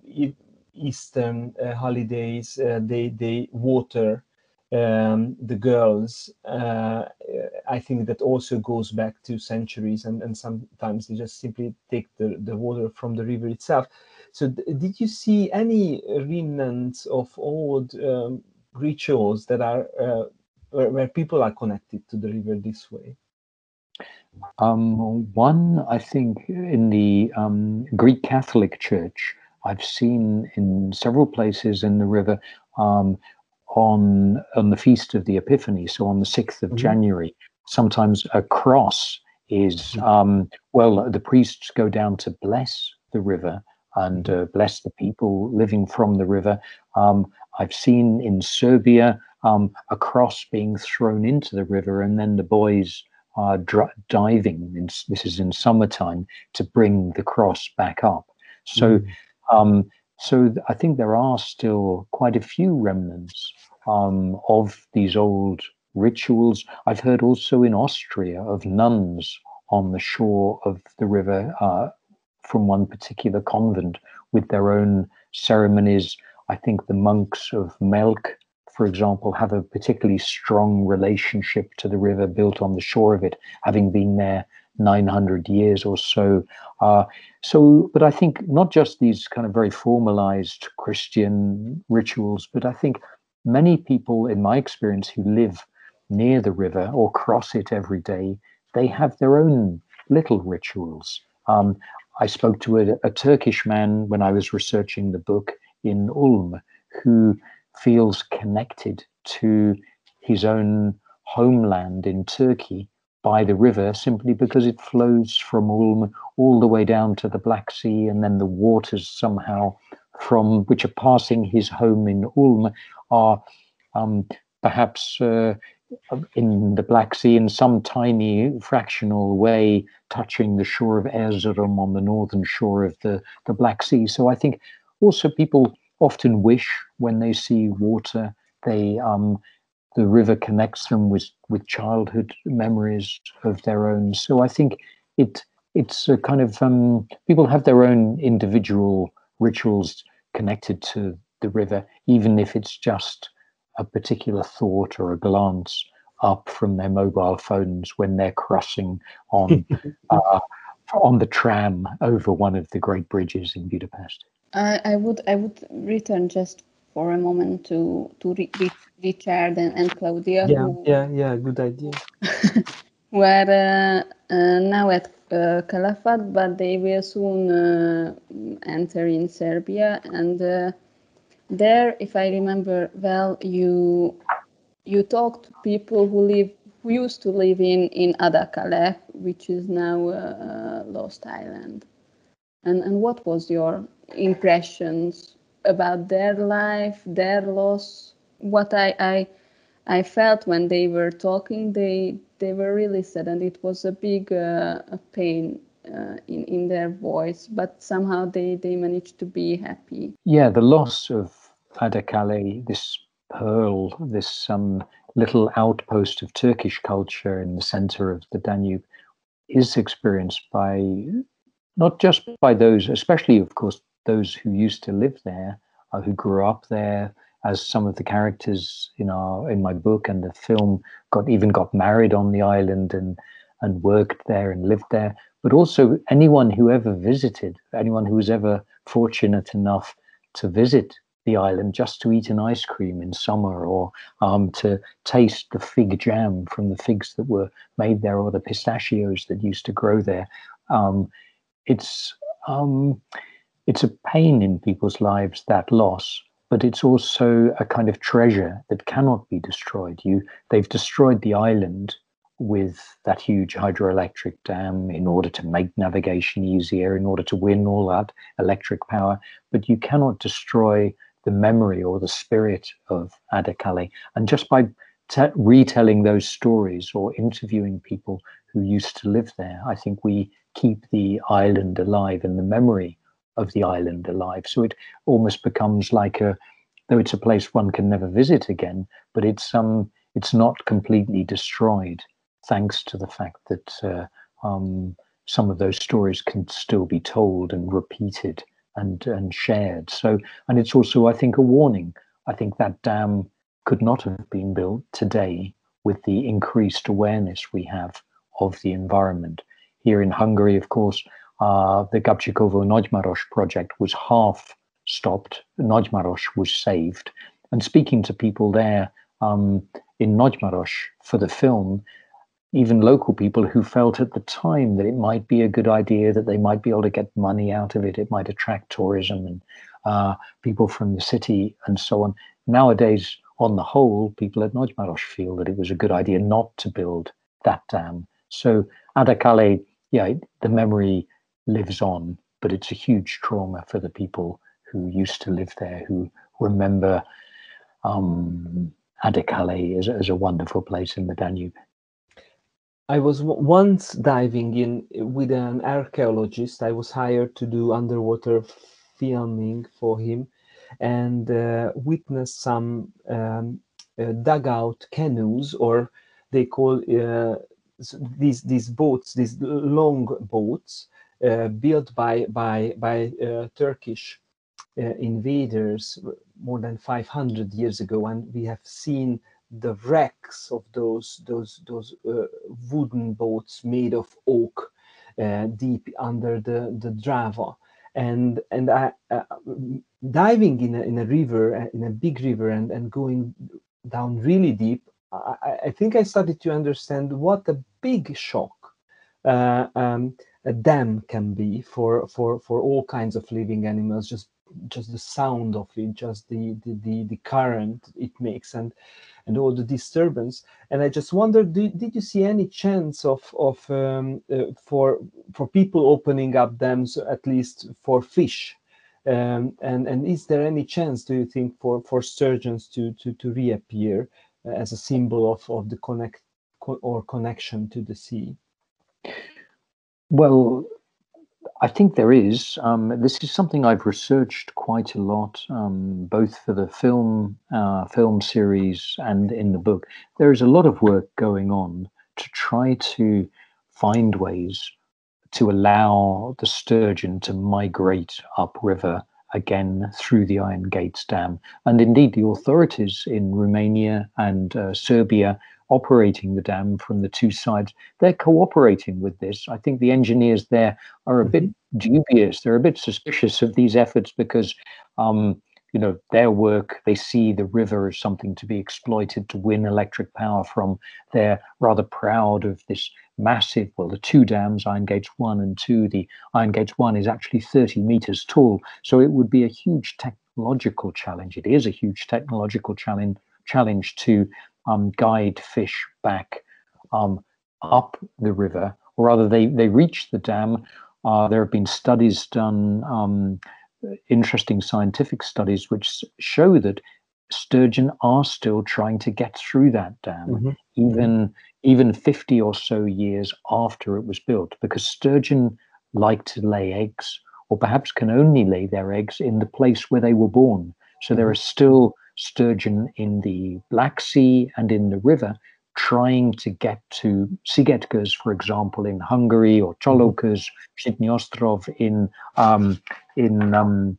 Eastern uh, holidays uh, they they water Um, the girls. uh, I think that also goes back to centuries, and, and sometimes they just simply take the, the water from the river itself. So did you see any remnants of old um, rituals that are uh, where, where people are connected to the river this way? Um, one, I think, in the um, Greek Catholic Church, I've seen in several places in the river, um, on on the feast of the Epiphany, so on the sixth of mm-hmm. January, sometimes a cross is, um, well, the priests go down to bless the river and uh, bless the people living from the river. Um, I've seen in Serbia um, a cross being thrown into the river, and then the boys are dr- diving, in, this is in summertime, to bring the cross back up. So mm-hmm. um, So I think there are still quite a few remnants um, of these old rituals. I've heard also in Austria of nuns on the shore of the river uh, from one particular convent with their own ceremonies. I think the monks of Melk, for example, have a particularly strong relationship to the river built on the shore of it, having been there nine hundred years or so. Uh, so, but I think not just these kind of very formalized Christian rituals, but I think many people, in my experience, who live near the river or cross it every day, they have their own little rituals. Um, I spoke to a, a Turkish man when I was researching the book in Ulm, who feels connected to his own homeland in Turkey by the river, simply because it flows from Ulm all the way down to the Black Sea, and then the waters somehow from which are passing his home in Ulm are um, perhaps uh, in the Black Sea in some tiny fractional way touching the shore of Erzurum on the northern shore of the, the Black Sea. So I think also people often wish when they see water, they um, the river connects them with, with childhood memories of their own. So I think it it's a kind of, um, people have their own individual rituals connected to the river, even if it's just a particular thought or a glance up from their mobile phones when they're crossing on uh, on the tram over one of the great bridges in Budapest. I, I would I would return just for a moment to to Richard and, and Claudia. Yeah, who, yeah, yeah. Good idea. were uh, uh, now at uh, Calafat, but they will soon uh, enter in Serbia. And uh, there, if I remember well, you you talked to people who live who used to live in in Adakale, which is now uh, Lost Island. And and what was your impressions about their life, their loss? What I I, I felt when they were talking, they they were really sad, and it was a big uh, a pain uh, in in their voice. But somehow they they managed to be happy. Yeah, the loss of Adakale, this pearl, this um, little outpost of Turkish culture in the center of the Danube, is experienced by not just by those, especially, of course, those who used to live there, uh, who grew up there, as some of the characters in our in my book and the film got even got married on the island and and worked there and lived there, but also anyone who ever visited, anyone who was ever fortunate enough to visit the island just to eat an ice cream in summer, or um, to taste the fig jam from the figs that were made there, or the pistachios that used to grow there. Um, it's um, it's a pain in people's lives, that loss, but it's also a kind of treasure that cannot be destroyed. You, they've destroyed the island with that huge hydroelectric dam in order to make navigation easier, in order to win all that electric power, but you cannot destroy the memory or the spirit of Adakale. And just by t- retelling those stories or interviewing people who used to live there, I think we keep the island alive and the memory of the island alive. So it almost becomes like a, though it's a place one can never visit again, but it's um it's not completely destroyed, thanks to the fact that uh, um, some of those stories can still be told and repeated and and shared. So, and it's also, I think, a warning. I think that dam could not have been built today with the increased awareness we have of the environment. Here in Hungary, of course, uh, the Gabčíkovo-Nagymaros project was half stopped. Nagymaros was saved. And speaking to people there um, in Nagymaros for the film, even local people who felt at the time that it might be a good idea, that they might be able to get money out of it, it might attract tourism and uh, people from the city and so on. Nowadays, on the whole, people at Nagymaros feel that it was a good idea not to build that dam. So Adakale, yeah, the memory lives on, but it's a huge trauma for the people who used to live there, who remember um, Adakale as, as a wonderful place in the Danube. I was w- once diving in with an archaeologist. I was hired to do underwater filming for him, and uh, witnessed some um, uh, dugout canoes, or they call uh, these these boats, these long boats uh, built by by by uh, Turkish uh, invaders more than five hundred years ago, and we have seen the wrecks of those those those uh, wooden boats made of oak uh, deep under the the Drava. And and I uh, diving in a, in a river, in a big river, and and going down really deep, I, I think I started to understand what a big shock uh, um, a dam can be for for for all kinds of living animals. Just just the sound of it, just the the the, the current it makes, and and all the disturbance. And I just wondered, did, did you see any chance of of um, uh, for for people opening up dams, at least for fish? Um, and and is there any chance, do you think, for for sturgeons to to to reappear uh, as a symbol of of the connect co- or connection to the sea? Well, I think there is. Um, this is something I've researched quite a lot, um, both for the film uh, film series and in the book. There is a lot of work going on to try to find ways to allow the sturgeon to migrate upriver again through the Iron Gates Dam. And indeed, the authorities in Romania and uh, Serbia operating the dam from the two sides, they're cooperating with this. I think the engineers there are a bit dubious. They're a bit suspicious of these efforts because, um, you know, their work, they see the river as something to be exploited to win electric power from. They're rather proud of this massive, well, the two dams, Iron Gates one and two. The Iron Gates one is actually thirty meters tall. So it would be a huge technological challenge. It is a huge technological challenge, challenge to um, guide fish back um, up the river, or rather they, they reach the dam. Uh, there have been studies done, um, interesting scientific studies, which show that sturgeon are still trying to get through that dam, Mm-hmm. even even fifty or so years after it was built, because sturgeon like to lay eggs, or perhaps can only lay their eggs in the place where they were born. So there are still sturgeon in the Black Sea and in the river, trying to get to Szigetköz, for example, in Hungary, or Csoloköz, Žitný Ostrov in um, in um,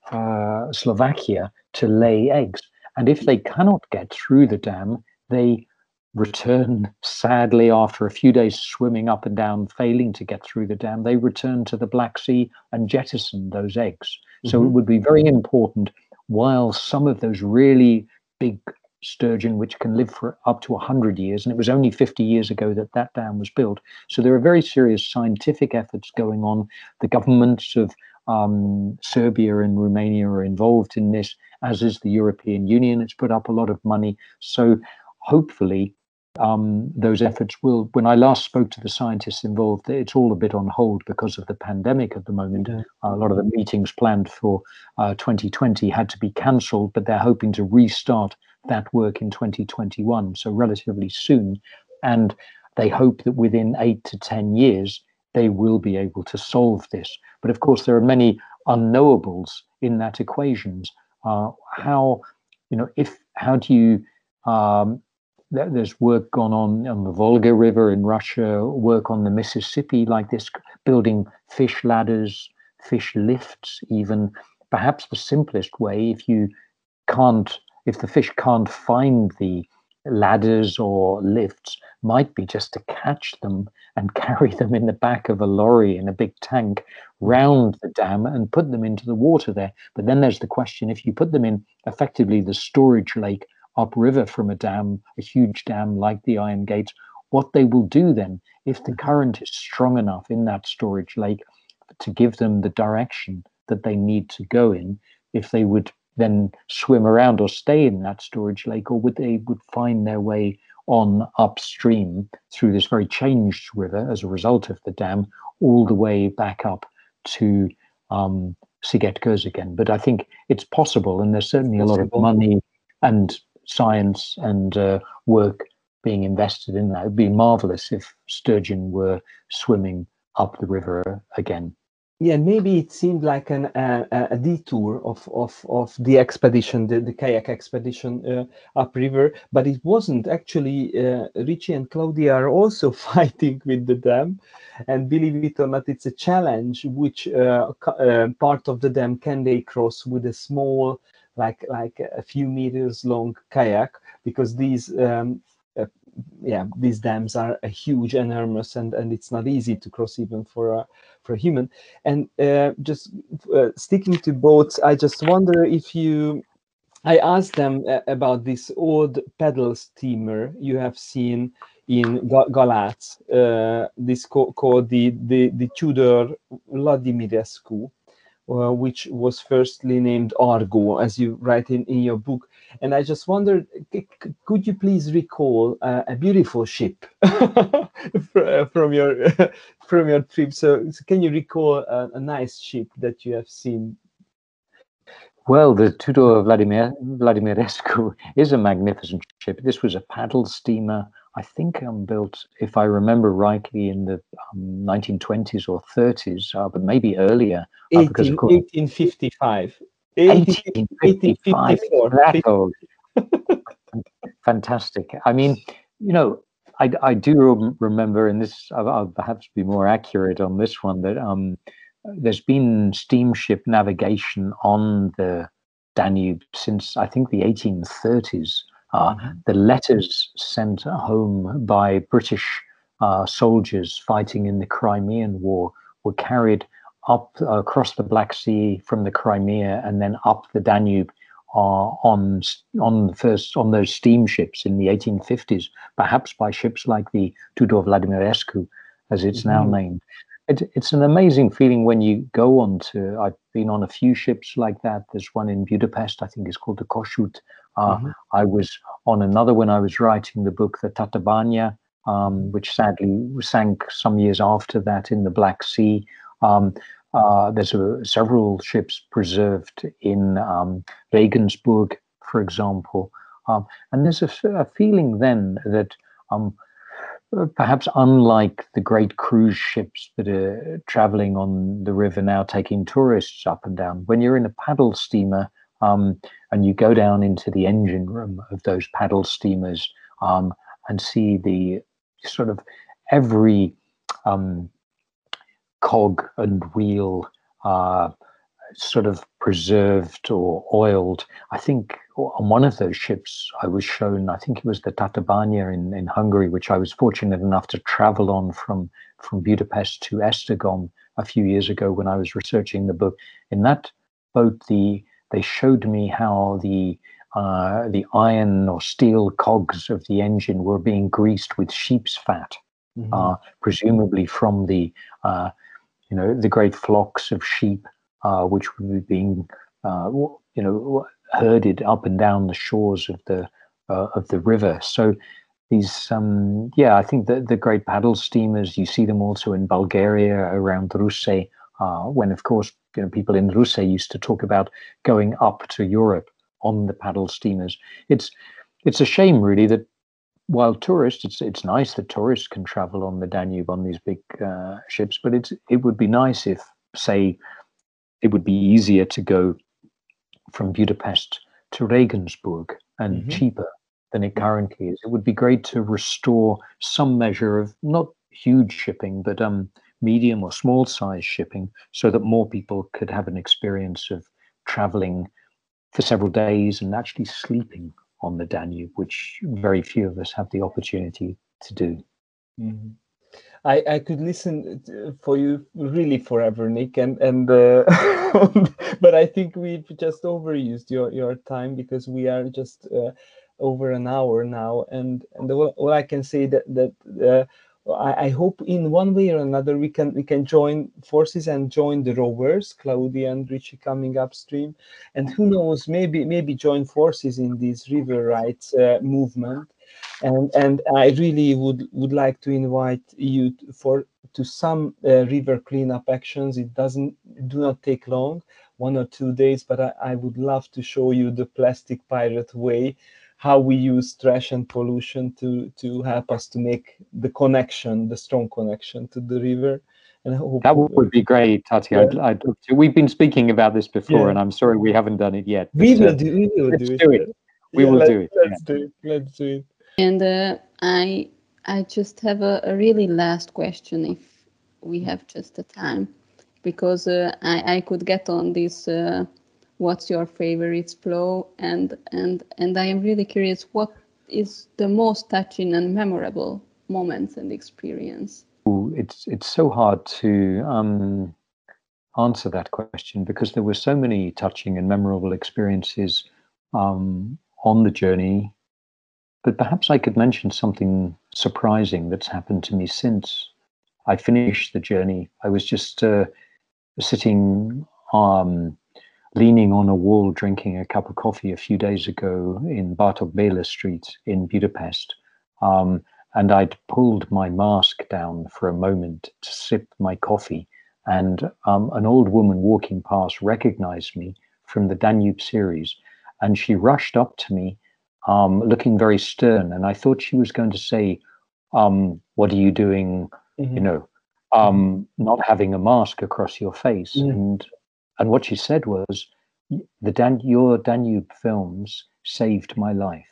uh, Slovakia to lay eggs. And if they cannot get through the dam, they return, sadly, after a few days swimming up and down, failing to get through the dam, they return to the Black Sea and jettison those eggs. Mm-hmm. So it would be very important, while some of those really big sturgeon, which can live for up to one hundred years, and it was only fifty years ago that that dam was built. So there are very serious scientific efforts going on. The governments of um, Serbia and Romania are involved in this, as is the European Union. It's put up a lot of money. So hopefully um, those efforts will, when I last spoke to the scientists involved, it's all a bit on hold because of the pandemic at the moment. Yeah. Uh, a lot of the meetings planned for uh, twenty twenty had to be cancelled, but they're hoping to restart that work in twenty twenty-one, so relatively soon. And they hope that within eight to ten years, they will be able to solve this. But of course, there are many unknowables in that equations. Uh, how, you know, if, how do you, um, th there's work gone on on the Volga River in Russia, work on the Mississippi like this, building fish ladders, fish lifts even. Perhaps the simplest way, if you can't, if the fish can't find the ladders or lifts, might be just to catch them and carry them in the back of a lorry in a big tank round the dam and put them into the water there. But then there's the question, if you put them in effectively the storage lake upriver from a dam, a huge dam like the Iron Gates, what they will do then, if the current is strong enough in that storage lake to give them the direction that they need to go in, if they would then swim around or stay in that storage lake, or would they would find their way on upstream through this very changed river as a result of the dam, all the way back up to um, Szigetköz again. But I think it's possible, and there's certainly a lot of money and science and uh, work being invested in that. It would be marvelous if sturgeon were swimming up the river again. Yeah, maybe it seemed like an, uh, a detour of, of, of the expedition, the, the kayak expedition uh, upriver, but it wasn't. Actually, uh, Richie and Claudia are also fighting with the dam, and believe it or not, it's a challenge which uh, uh, part of the dam can they cross with a small, like, like a few meters long kayak, because these um, uh, yeah, these dams are uh, huge, enormous, and, and it's not easy to cross even for a, for a human. And uh, just uh, sticking to boats, I just wonder if you, I asked them uh, about this old paddle steamer you have seen in Galatz, uh, this co called the, the, the Tudor Vladimirescu, uh, which was firstly named Argo, as you write in, in your book. And I just wondered, could you please recall uh, a beautiful ship from your from your trip? So, so can you recall a, a nice ship that you have seen? Well, the Tudor Vladimir Vladimirescu is a magnificent ship. This was a paddle steamer, I think, um, built, if I remember rightly, in the um, nineteen twenties or thirties, uh, but maybe earlier. Uh, eighteen, because of course, eighteen fifty-five. eighteen fifty-five, that old. Fantastic. I mean, you know, I, I do rem remember, and this, I'll, I'll perhaps be more accurate on this one, that um, there's been steamship navigation on the Danube since, I think, the eighteen thirties. Uh, mm-hmm. The letters sent home by British uh, soldiers fighting in the Crimean War were carried up uh, across the Black Sea from the Crimea and then up the Danube uh, on on the first on those steamships in the eighteen fifties, perhaps by ships like the Tudor Vladimirescu, as it's mm-hmm. now named. It, it's an amazing feeling when you go on to. I've been on a few ships like that. There's one in Budapest, I think it's called the Kossuth. Uh, mm-hmm. I was on another when I was writing the book, the Tatabánya, um, which sadly sank some years after that in the Black Sea. Um, uh, there's a, several ships preserved in um, Regensburg, for example. Um, and there's a, a feeling then that um, perhaps unlike the great cruise ships that are traveling on the river now, taking tourists up and down, when you're in a paddle steamer um, and you go down into the engine room of those paddle steamers, um, and see the sort of every um, cog and wheel uh, sort of preserved or oiled. I think on one of those ships I was shown, I think it was the Tatabánya in, in Hungary, which I was fortunate enough to travel on from, from Budapest to Esztergom a few years ago when I was researching the book. In that boat, the they showed me how the uh, the iron or steel cogs of the engine were being greased with sheep's fat, mm-hmm. uh, presumably from the uh, you know the great flocks of sheep uh, which were being uh, you know herded up and down the shores of the uh, of the river. So these um, yeah, I think the the great paddle steamers, you see them also in Bulgaria around Russe, uh, when of course you know people in Russe used to talk about going up to Europe on the paddle steamers. It's it's a shame really that while tourists, it's it's nice that tourists can travel on the Danube on these big uh, ships, but it's it would be nice if, say, it would be easier to go from Budapest to Regensburg and mm-hmm. cheaper than it currently is. It would be great to restore some measure of not huge shipping, but um medium or small size shipping, so that more people could have an experience of traveling for several days and actually sleeping on the Danube, which very few of us have the opportunity to do. Mm-hmm. I, I could listen for you really forever, Nick, and and uh, but I think we've just overused your, your time, because we are just uh, over an hour now, and and all, all I can say that that uh, I, I hope in one way or another we can we can join forces and join the rowers, Claudia and Richie coming upstream, and who knows, maybe maybe join forces in this river rights uh, movement. And and I really would would like to invite you to, for to some uh, river cleanup actions. It doesn't do not take long, one or two days, but I, I would love to show you the Plastic Pirate way, how we use trash and pollution to to help us to make the connection, the strong connection to the river. And I hope, that would be great, Tati. Yeah. I'd, I'd love to. We've been speaking about this before, yeah. and I'm sorry we haven't done it yet. But, we will uh, do. We will let's do it. Do it. We yeah, will let's, do it. Let's yeah. do it. Let's do it. And uh, I I just have a, a really last question, if we have just the time, because uh, I I could get on this. Uh, what's your favorite flow? And and and I am really curious, what is the most touching and memorable moments and experience? It's it's so hard to um, answer that question, because there were so many touching and memorable experiences um, on the journey. But perhaps I could mention something surprising that's happened to me since I finished the journey. I was just uh, sitting, um, leaning on a wall, drinking a cup of coffee a few days ago in Bartók Béla Street in Budapest. Um, and I'd pulled my mask down for a moment to sip my coffee. And um, an old woman walking past recognized me from the Danube series. And she rushed up to me, Um, looking very stern, and I thought she was going to say, um, "What are you doing? Mm-hmm. You know, um, not having a mask across your face." Mm-hmm. And and what she said was, "The Dan- your Danube films saved my life."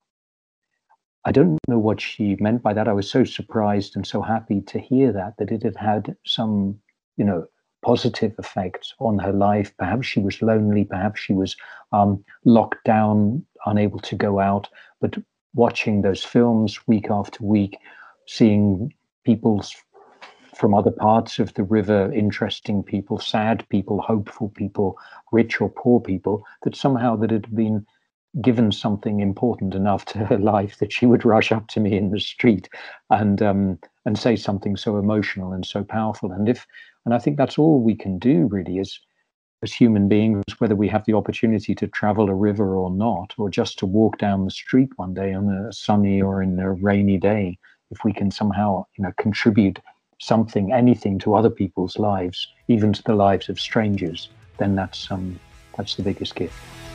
I don't know what she meant by that. I was so surprised and so happy to hear that that it had had some, you know, positive effect on her life. Perhaps she was lonely, perhaps she was um, locked down, unable to go out, but watching those films week after week, seeing people from other parts of the river, interesting people, sad people, hopeful people, rich or poor people, that somehow that had been given something important enough to her life that she would rush up to me in the street and um, and say something so emotional and so powerful. And if and I think that's all we can do really as as human beings, whether we have the opportunity to travel a river or not, or just to walk down the street one day on a sunny or in a rainy day, if we can somehow, you know, contribute something, anything to other people's lives, even to the lives of strangers, then that's um that's the biggest gift.